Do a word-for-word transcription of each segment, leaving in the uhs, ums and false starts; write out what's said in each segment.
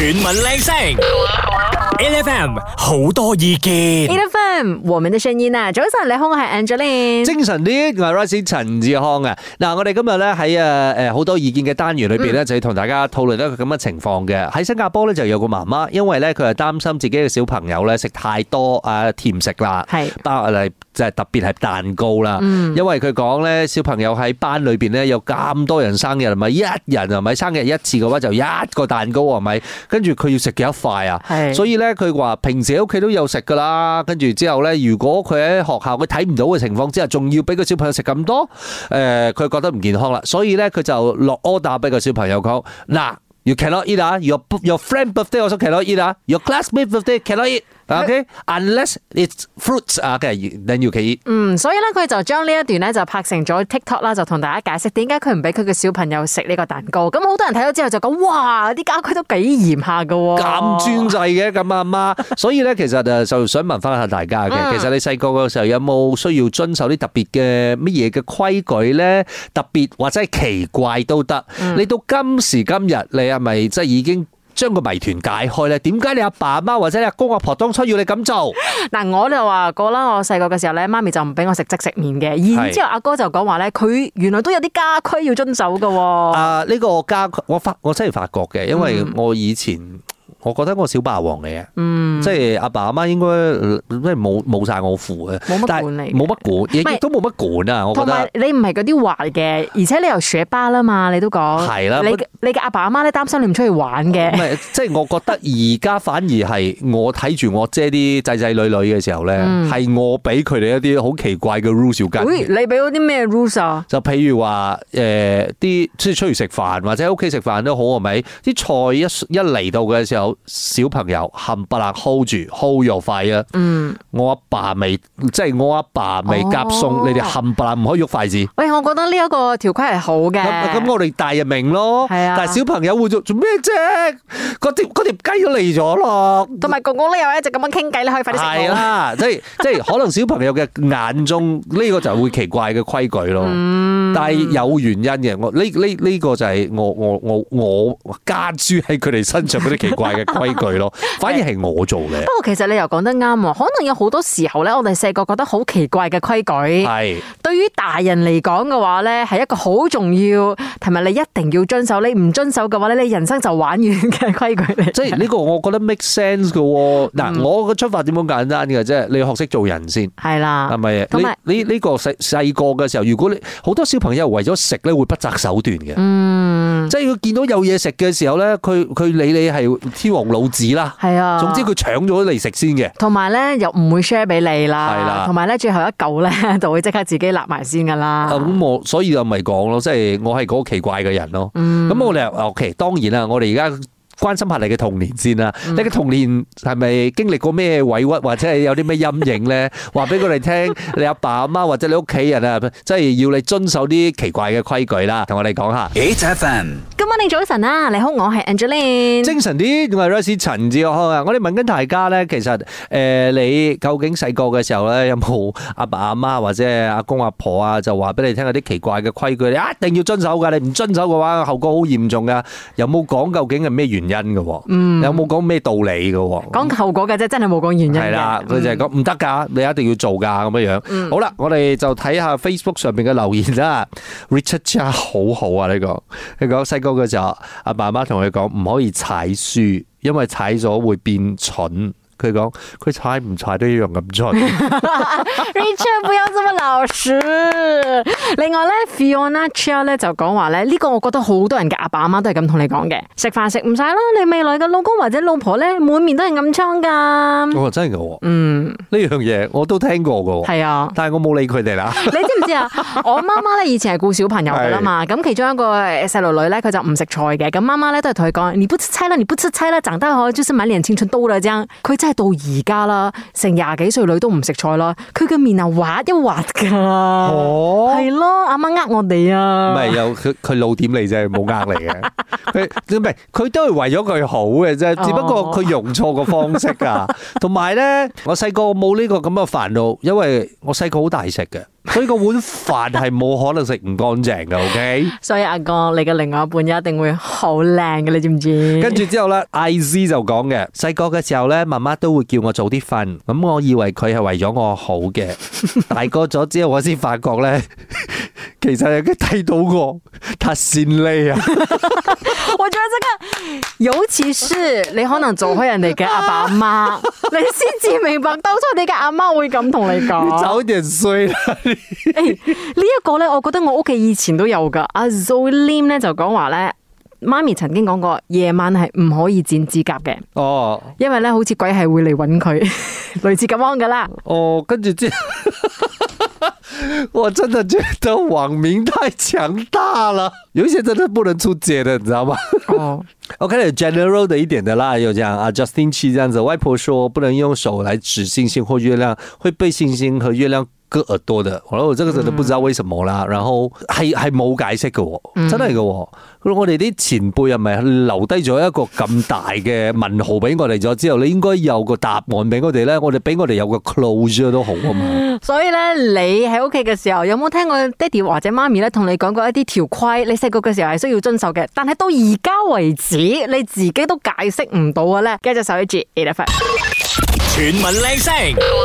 全民靚聲，L F M 好多意見 ，L F M 我們的聲音啊！早晨，你好，我係 Angeline， 精神啲，我係 Royce 陳志康啊！嗱，我哋今日咧喺誒誒好多意見嘅單元裏邊咧，就要同大家討論一個咁嘅情況嘅。喺新加坡咧就有個媽媽，因為咧佢係擔心自己嘅小朋友咧食太多啊甜食啦，係包嚟就係特別係蛋糕啦。嗯、因為佢講咧小朋友喺班裏邊咧有咁多人生日，係咪一人係咪生日一次嘅話就一個蛋糕係咪？跟住佢要食幾多塊啊？所以咧佢話平時喺屋企都有食噶啦，跟住之後咧如果佢喺學校佢睇唔到嘅情況之下，仲要俾個小朋友食咁多，誒、呃、佢覺得唔健康啦，所以咧佢就落 order 俾個小朋友講嗱。You cannot eat 啊 ！Your your friend birthday also cannot eat 啊 ！Your classmate birthday cannot eat。OK， unless it's fruits 啊，then you can eat。 嗯，所以咧佢就將呢一段咧就拍成咗 TikTok 啦，就同大家解釋點解佢唔俾佢嘅小朋友食呢個蛋糕。咁好多人睇咗之後就講：哇，啲家規都幾嚴下噶， 咁專制嘅咁阿媽。所以咧，其實誒就想問翻下大家嘅，嗯、其實你細個嘅時候有冇需要遵守啲特別嘅乜嘢嘅規矩咧？特別或者係奇怪都得。嗯、你到今時今日，你係咪即係已經將個謎團解開咧？點解你阿爸阿媽或者你阿公阿婆當初要你咁做？ 嗱，我就話過啦，我細個嘅時候咧，媽咪就唔俾我食即食麵嘅。然之後阿哥就講話咧，佢原來都有啲家規要遵守噶。 啊，呢個家規我發我真係發覺嘅，因為我以前。我覺得我小霸王嚟嘅，嗯、即係阿爸阿媽應該即係冇冇曬我符嘅， 冇乜管理， 冇乜管，亦都冇乜管啊！我覺得。同埋你唔係嗰啲壞嘅，而且你又學巴啦嘛，你都講。係啦。你你嘅阿爸阿媽咧擔心你唔出去玩嘅。唔係， 即係我覺得而家反而係我睇住我姐啲仔仔女女嘅時候咧，係、嗯、我俾佢哋一啲好奇怪嘅 rules 要跟。 喂，你俾咗啲咩 rules 啊？ 就譬如話誒啲即係出去食飯或者喺屋企食飯都好係咪？啲菜一一嚟到嘅時候。小朋友冚唪唥 hold 住 hold 又快啊！嗯，我阿爸未即係我阿爸未夾餸，哦、你哋冚唪唥唔可以喐筷子。 喂，我覺得呢一個條規係好嘅。 咁我哋大人明咯，係啊。但係小朋友會做做咩啫？嗰條嗰條雞都嚟咗咯。同埋公公咧又一直咁樣傾偈，你可以快啲食。係啦，即係即係可能小朋友嘅眼中呢、呢個就會奇怪嘅規矩咯。嗯、但係有原因嘅，我呢呢呢個就係我我我我加諸喺佢哋身上嗰啲奇怪嘅規矩。咯，反而係我做嘅。不過其實你又講得啱喎，可能有好多時候咧，我哋細個覺得好奇怪嘅規矩，係對於大人嚟講嘅話咧，係一個好重要，同埋你一定要遵守。你唔遵守嘅話咧，你人生就玩完嘅規矩嚟。 即係呢個我覺得 make sense 嘅喎。嗱、嗯，我嘅出發點好簡單嘅啫，你要學識做人先。係啦，係咪？同埋你呢個細細個嘅時候，如果你好多小朋友為咗食咧，會不擇手段嘅。嗯，即係佢見到有嘢食嘅時候咧，佢佢理你係天王老子啦，係啊，總之佢搶咗嚟食先嘅，同埋咧又唔會 share 俾你啦，係啦，同埋咧最後一嚿咧就會即刻自己立埋先噶啦。咁我所以就咪講咯，即係我係嗰個奇怪嘅人咯。嗯，咁我哋 OK， 當然啦，我哋而家關心下你嘅童年先啦。嗯、你嘅童年係咪經歷過咩委屈，或者係有啲咩陰影咧？話俾佢哋聽，你阿爸阿媽或者你屋企人啊，即係要你遵守啲奇怪嘅規矩啦。同我哋講下。H F M，今晚你早晨啊，你好，我係 Angeline。精神啲，我係 Royce 陳志康啊。我哋問緊大家咧，其實誒、呃，你究竟細個嘅時候咧，有冇阿爸阿媽或者阿公阿婆啊，就話俾你聽有啲奇怪嘅規矩，你一定要遵守噶，你唔遵守嘅話，後果好嚴重噶。有冇講究竟係咩原因嘅？嗯，有冇講咩道理嘅？講後果嘅啫，真係冇講原因嘅。係啦，佢就係講唔得噶，你一定要做噶咁樣樣。嗯、好啦，我哋就睇下 Facebook 上邊嘅留言啦。Richard 真係好好啊，呢、這個佢講細個嘅時候，阿爸媽同佢講唔可以踩書，因為踩咗會變蠢。佢講佢踩唔踩都一樣咁蠢。Richard 不要這麼老實。另外咧 Fiona Chia 咧就講話咧，呢個我覺得好多人嘅阿爸阿媽都係咁同你講嘅，食飯食唔晒啦，你未來嘅老公或者老婆咧滿面都係暗瘡噶。哦，真係噶，嗯，呢樣嘢我都聽過噶，係啊，但係我冇理佢哋啦。你知唔知啊？我媽媽咧以前係顧小朋友噶啦嘛，咁其中一個細路女咧佢就唔食菜嘅，咁媽媽咧都係同佢講，你不吃菜啦，你不吃菜啦，長大後就是滿臉青春痘啦，這樣佢真係到而家啦，成廿幾歲女都唔食菜啦，佢嘅面啊滑一滑噶，哦，係咯，阿媽呃我哋啊，唔係有佢佢老點嚟啫，冇呃你嘅，佢唔係佢都係為咗佢好嘅啫，只不過佢用錯個方式啊，同埋咧，我細個冇呢個咁嘅煩惱，因為我細個好大食嘅。 所以個碗飯係冇可能食唔乾淨嘅 ，OK？ 所以阿哥，你嘅另外一半一定會好靚嘅，你知唔知？ 跟住之後咧 ，I Z 就講嘅，細個嘅時候咧，媽媽都會叫我早啲瞓，咁我以為佢係為咗我好嘅，大個咗之後我先發覺咧，其實係佢睇到我，太善利啊！ 我覺得這個，尤其是你可能做開人哋嘅阿爸阿媽，你先至明白當初你嘅阿媽會咁同你講。 你早點睡啦！誒， 呢一個咧，我覺得我屋企以前都有噶。阿 Zolim 咧就講話咧，媽咪曾經講過，夜晚係唔可以剪指甲嘅。哦，因為咧好似鬼係會嚟搵佢，類似咁樣噶啦。 哦，跟住之後。我真的覺得網民太強大了，有一些真的不能出街的，你知道嗎？哦，OK， general 的一點的啦，有這樣啊 ，Justin Chi 這樣子，外婆說不能用手來指星星或月亮，會被星星和月亮割耳朵的。我我這個真的不知道為什麼啦，然後係係冇解釋嘅，真係嘅。我哋啲前輩係咪留低咗一個咁大嘅問號俾我哋咗之後，你應該有個答案俾我哋咧，我哋俾我哋有個 closure 都好啊嘛。 所以咧，你喺屋企嘅時候有冇聽過爹哋或者媽咪咧同你講過一啲條規？你細個嘅時候係需要遵守嘅，但係到而家為止，你自己都解釋唔到嘅咧。繼續守住 A F M， 全民靚聲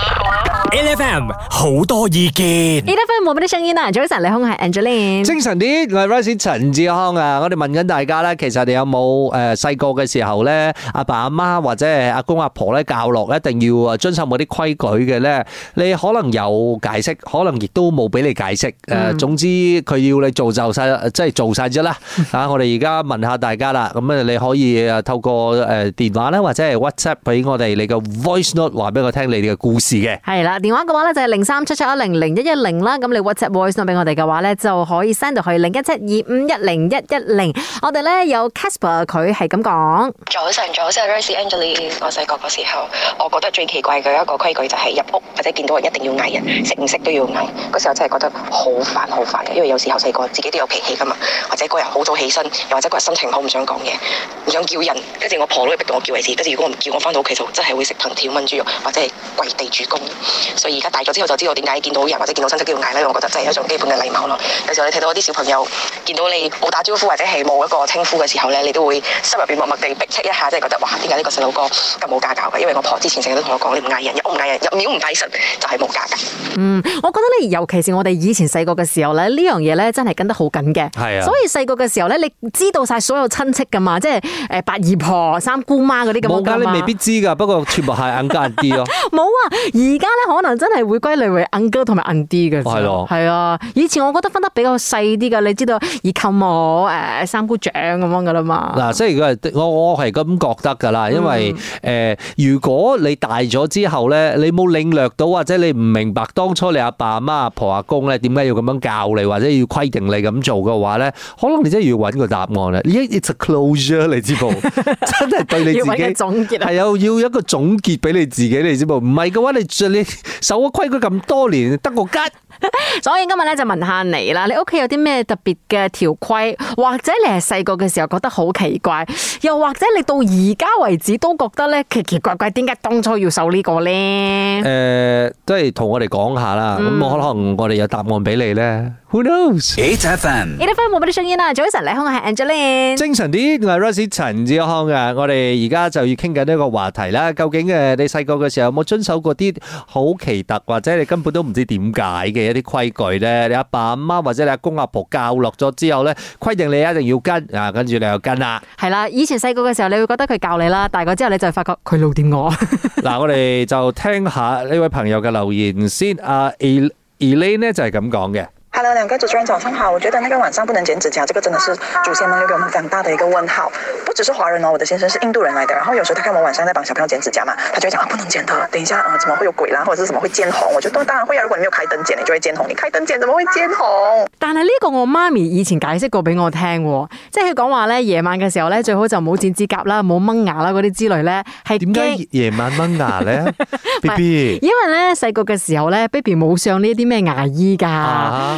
，A F M 好多意見 ，A F M 冇乜啲聲音啊！早晨，你好，我係 Angeline， 精神啲，我係 Rice 陳志康啊！我哋問緊大家咧，其實你有冇誒細個嘅時候咧，阿爸阿媽或者係阿公阿婆咧教落一定要遵守某啲規矩嘅咧？你可能有解釋，可能亦都冇俾你解釋。誒、嗯，總之佢要你做就晒，即係做晒啫啦。啊，我哋而家問下大家啦，咁啊你可以誒透過誒電話咧，或者係 WhatsApp 俾我哋你嘅 Voice Note 話俾我聽你哋嘅故事嘅。 係啦，電話嘅話咧就係零三七七一零零一一零啦。咁你 WhatsApp Voice Note 俾我哋嘅話咧，就可以 send 到去零一七二五一零一一零。我哋咧有 Casper， 佢係咁講。 早晨，早晨 Rice Angeline， 我細個嗰時候，我覺得最奇怪嘅一個規矩就係入屋或者見到人一定要嗌人，食唔食都要嗌。嗰時候真係覺得好煩好煩嘅，因為有時候細個自己都有脾氣噶嘛，或者個人好早起身，又或者個人心情好唔想講嘢，唔想叫人，跟住我婆都會逼到我叫為止。跟住如果我唔叫，我翻到屋企就真係會食藤條炆豬肉，或者係跪地主公。所以而家大咗之後就知道點解見到人或者見到親戚都要嗌咧，我覺得真係一種基本嘅禮貌咯。有時候你睇到啲小朋友見到你冇打招呼或者係冇一個稱呼嘅時候咧，你都會心入邊默默地逼斥一下，即係覺得哇，點解呢個細路哥咁冇家教嘅？因為我婆之前成日都同我講，你唔嗌人，入屋唔嗌人，入廟唔拜神，就係冇家教。 嗯，我覺得咧，尤其是我哋以前細個嘅時候咧，呢樣嘢咧真係跟得好緊嘅。係啊，所以細個嘅時候咧，你知道晒所有親戚噶嘛，即係誒八姨婆、三姑媽嗰啲咁。冇噶，你未必知噶，不過全部係 uncle auntie 咯。 冇啊，而家咧可能真係會歸類為 uncle 同埋 auntie 嘅。係咯，係啊，以前我覺得分得比較細啲噶，你知道二舅母、誒三姑丈咁樣噶啦嘛。嗱， 即係我我係咁覺得噶啦，因為誒、嗯呃，如果你大咗之後咧，你冇領略到或者你唔明白當初你阿爸阿媽阿婆阿公咧點解要咁樣教你或者要規定你咁做嘅話咧，可能你真係要揾個答案啦。It's a closure， 你知冇？真係對你自己係有要一個總結俾你自己，你知冇？唔係嘅話，你你守咗規矩咁多年，得個吉。 所以今日咧就問下你啦，你屋企有啲咩特別嘅條規，或者你係細個嘅時候覺得好奇怪，又或者你到而家為止都覺得咧奇奇怪怪，點解當初要守呢個咧？誒、 呃，都係同我哋講下啦。咁、嗯、可能我哋有答案俾你咧。Who knows？A F M，A F M 冇乜啲聲音啦。早晨，你好，我係 Angeline。 精神啲，我係 Rosie 陳志康嘅。我哋而家就要傾緊呢個話題啦。究竟誒，你細個嘅時候有冇遵守過啲好奇特，或者你根本都唔知點解嘅一啲規矩咧？你阿爸阿媽或者你阿公阿婆教落咗之後咧，規定你一定要跟啊，跟住你又跟啦。係啦，以前細個嘅時候，你會覺得佢教你啦，大個之後你就發覺佢老點我。 嗱，我哋就聽下呢位朋友嘅留言先。阿 Elaine 呢就係咁講嘅。 Hello， 兩個主持人早上好。我覺得那個晚上不能剪指甲，這個真的是祖先們留給我們非常大的一個問號。不只是華人哦，我的先生是印度人來的，然後有時候他看我晚上在幫小朋友剪指甲嘛，他就會講啊，不能剪的，等一下啊、呃，怎麼會有鬼啦，或者是什麼會見紅？我覺得當然會啊，如果你沒有開燈剪，你就會見紅。你開燈剪怎麼會見紅？ 但係呢個我媽咪以前解釋過俾我聽，即係佢講話咧，夜晚嘅時候咧，最好就冇剪指甲啦，冇掹牙啦，嗰啲之類咧，係點解夜晚掹牙咧？B B， 因為咧細個嘅時候咧 ，baby 冇上呢啲咩牙醫噶，啊、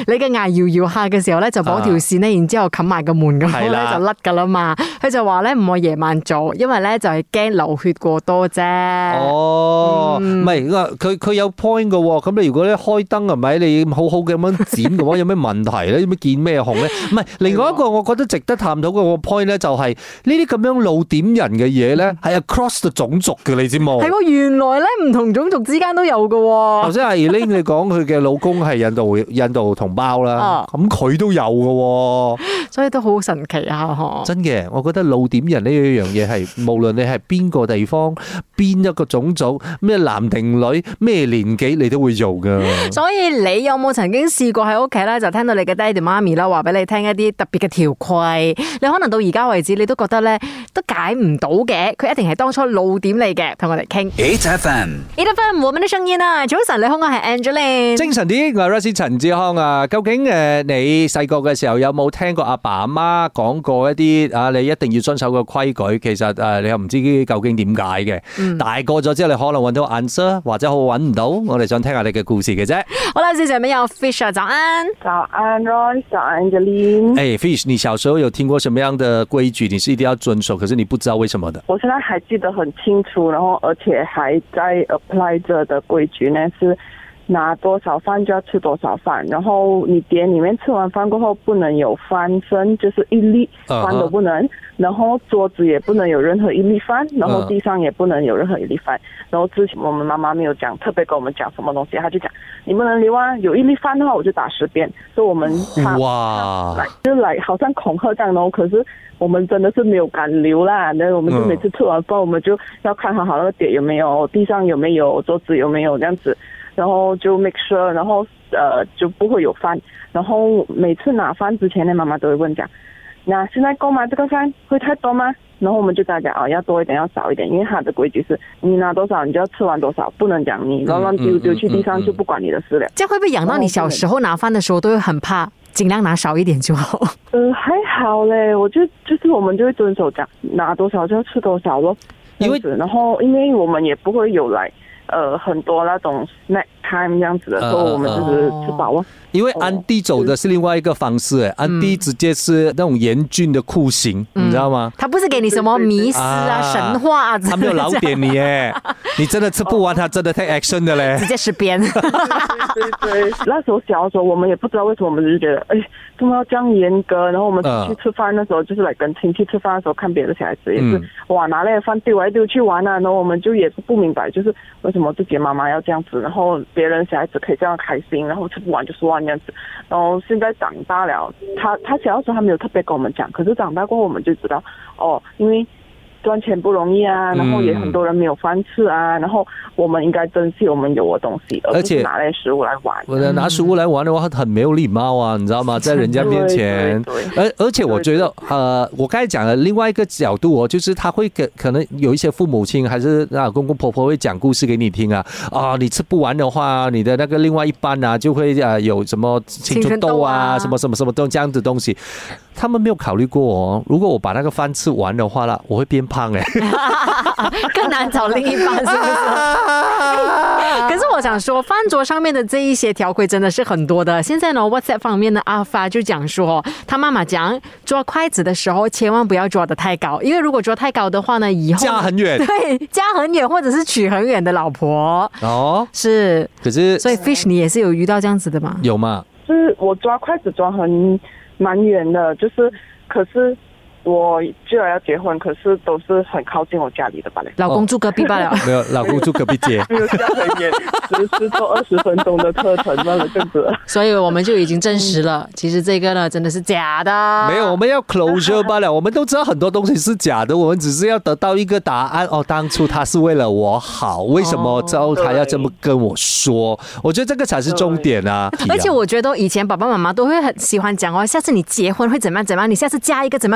你嘅牙搖搖下嘅時候咧，就綁條線咧，然之後冚埋個門咁樣咧就甩噶啦嘛。佢就話咧唔可以夜晚做，因為咧就係驚流血過多啫。 哦，唔係佢佢有 point 嘅喎。咁你如果咧開燈係咪？你好好嘅咁樣剪嘅話，有咩問題咧？有咩見咩紅咧？唔係，另外一個我覺得值得探討嘅個 point 咧，就係呢啲咁樣露點人嘅嘢咧，係 across the 種族嘅，你知冇？係喎， 原來咧唔同種族之間都有嘅喎。 頭先阿 Elaine 你講佢嘅老公係印度印度同胞啦，咁佢都有嘅喎， 所以都好神奇啊！嗬， 真嘅，我覺得露點人呢一樣嘢係無論你係邊個地方、邊一個種族、咩男定女、咩年紀，你都會做㗎。 所以你有冇曾經試過喺屋企咧，就聽到你嘅爹哋媽咪啦，話俾你聽一啲特別嘅條規，你可能到而家為止，你都覺得咧都解唔到嘅，佢一定係當初露點你嘅，同我哋傾。 eight F M，eight F M， 我們的聲音啊！早晨，你好，我係 Angeline。 精神啲，我係 Rosie 陳志康啊。究竟誒你細個嘅時候有冇聽過阿爸阿媽講過一啲啊？你一定要遵守嘅規矩，其實誒你又唔知究竟點解嘅。嗯、大個咗之後，你可能揾到 answer，或者好揾唔到。我哋想聽下你嘅故事嘅啫。 好啦，接下面有 Fish 早安。 早安 Roy， 早安 Angeline。 誒 Fish， 你小時候有聽過什麼樣的規矩？你是一定要遵守，可是你不知道為什麼的？ 我現在還記得很清楚，然後而且還在 apply 着的規矩呢，是拿多少飯就要吃多少飯，然後你碟裏面吃完飯過後不能有飯剩，就是一粒飯都不能， uh-huh. 然後桌子也不能有任何一粒飯，然後地上也不能有任何一粒飯。然後之前我們媽媽沒有講，特別跟我們講什麼東西，她就講你不能留啊，有一粒飯的話我就打十遍，所以我們哇， 就來好像恐嚇這樣，然後可是我們真的是沒有敢留啦，那我們就每次吃完飯我們就要看好好那個碟有沒有，地上有沒有，桌子有沒有這樣子。然後就 make sure， 然後呃就不會有飯。然後每次拿飯之前呢，媽媽都會問講，那現在夠嗎？這個飯會太多嗎？然後我們就大家講，哦，要多一點，要少一點，因為它的規矩是你拿多少你就要吃完多少，不能講你亂亂丟丟去地上就不管你的事了。 這樣會不會養到你小時候拿飯的時候都會很怕，盡量拿少一點就好？ 呃，還好嘞，我就就是我們就會遵守講，拿多少就要吃多少咯。因為然後因為我們也不會有來。呃，很多那種 snack time 這樣子的時候，呃、我們就是吃飽了。 因為安迪走的是另外一個方式，誒、嗯，安迪直接是那種嚴峻的酷刑、嗯，你知道嗎？ 他不是給你什麼迷思啊、啊神話啊， 他沒有老點你誒，你真的吃不完，他真的 take action 的嘞， 直接吃邊。 對對對，那時候小的時候，我們也不知道為什麼，我們就覺得，哎，怎麼要這樣嚴格？然後我們出去吃飯的時候，就是來跟親戚吃飯的時候，看別的小孩子也是，嗯、哇，拿那個飯丟來丟去玩啊，然後我們就也是不明白，就是為什麼自己媽媽要這樣子，然後別人小孩子可以這樣開心，然後吃不完就算這樣子。然後現在長大了，他他小的時候他沒有特別跟我們講，可是長大過後我們就知道，哦，因為賺錢不容易啊，然後也很多人沒有飯吃啊，然後我們應該珍惜我們有的東西，而不是拿來食物來玩。 我拿食物來玩的話，很沒有禮貌啊，你知道嗎？在人家面前。對對對，而而且我覺得，呃，我剛才講的另外一個角度哦，就是他會可可能有一些父母親還是啊公公婆婆會講故事給你聽啊，啊，你吃不完的話，你的那個另外一半啊就會啊有什麼青春痘啊，什麼什麼什麼都這樣子東西，他們沒有考慮過哦。如果我把那個飯吃完的話啦，我會變胖誒， 更難找另一半，是不是？可是我想說，飯桌上面的這一些條規真的是很多的。現在呢 ，WhatsApp 方面的阿發就講說，他媽媽講抓筷子的時候，千萬不要抓得太高，因為如果抓太高的話呢，以後家很遠， 對，家很遠，或者是娶很遠的老婆哦。是， 可是所以 Fish 你也是有遇到這樣子的嗎？ 有嗎？ 就是我抓筷子抓很蠻遠的，就是可是。我就要結婚，可是都是很靠近我家裏的吧？ 老公住隔壁罷了， 沒有，老公住隔壁街， 沒有家很遠，十十到二十分鐘的車程，那個樣子。 所以我們就已經證實了，其實這個呢真的是假的。 沒有，我們要 closure 罷了。我們都知道很多東西是假的，我們只是要得到一個答案。哦，當初他是為了我好，為什麼之後他要這麼跟我說？我覺得這個才是重點啊。 而且我覺得以前爸爸媽媽都會很喜歡講哦，下次你結婚會怎麼樣怎麼樣，你下次嫁一個怎麼樣怎麼樣的人。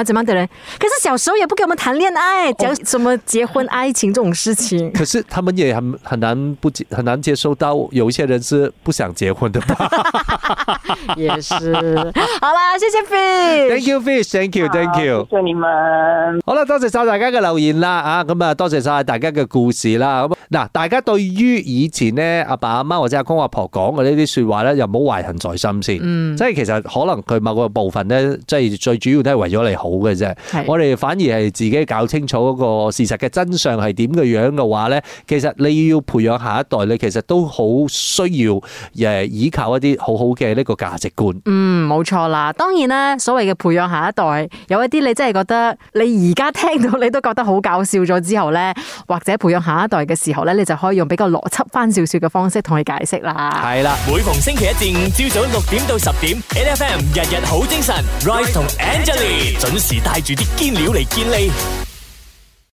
呢？可是小時候也不給我們談戀愛，講什麼結婚愛情這種事情。 可是他們也很很難不很難接受到有一些人是不想結婚的吧？ 也是。好啦，謝謝 Fish，Thank you Fish，Thank you，Thank you， 謝謝你們。 好啦，多謝晒大家嘅留言啦，啊，咁啊，多謝晒大家嘅故事啦。咁嗱，大家對於以前咧阿爸阿媽或者阿公阿婆講嘅呢啲說話咧，又唔好懷恨在心先。嗯，即係其實可能佢某個部分咧，即係最主要都係為咗你好嘅啫。我哋反而係自己搞清楚嗰個事實嘅真相係點嘅樣嘅話咧，其實你要培養下一代，你其實都好需要誒依靠一啲好好嘅呢個價值觀。 嗯，冇錯啦。當然啦，所謂嘅培養下一代，有一啲你真係覺得你而家聽到你都覺得好搞笑咗之後咧，或者培養下一代嘅時候咧，你就可以用比較邏輯翻少少嘅方式同佢解釋啦。 係啦， 每逢星期一至五朝早六點到十點 ，N F M 日日好精神 ，Rise 同 Angelie 準時帶住啲堅料嚟健利。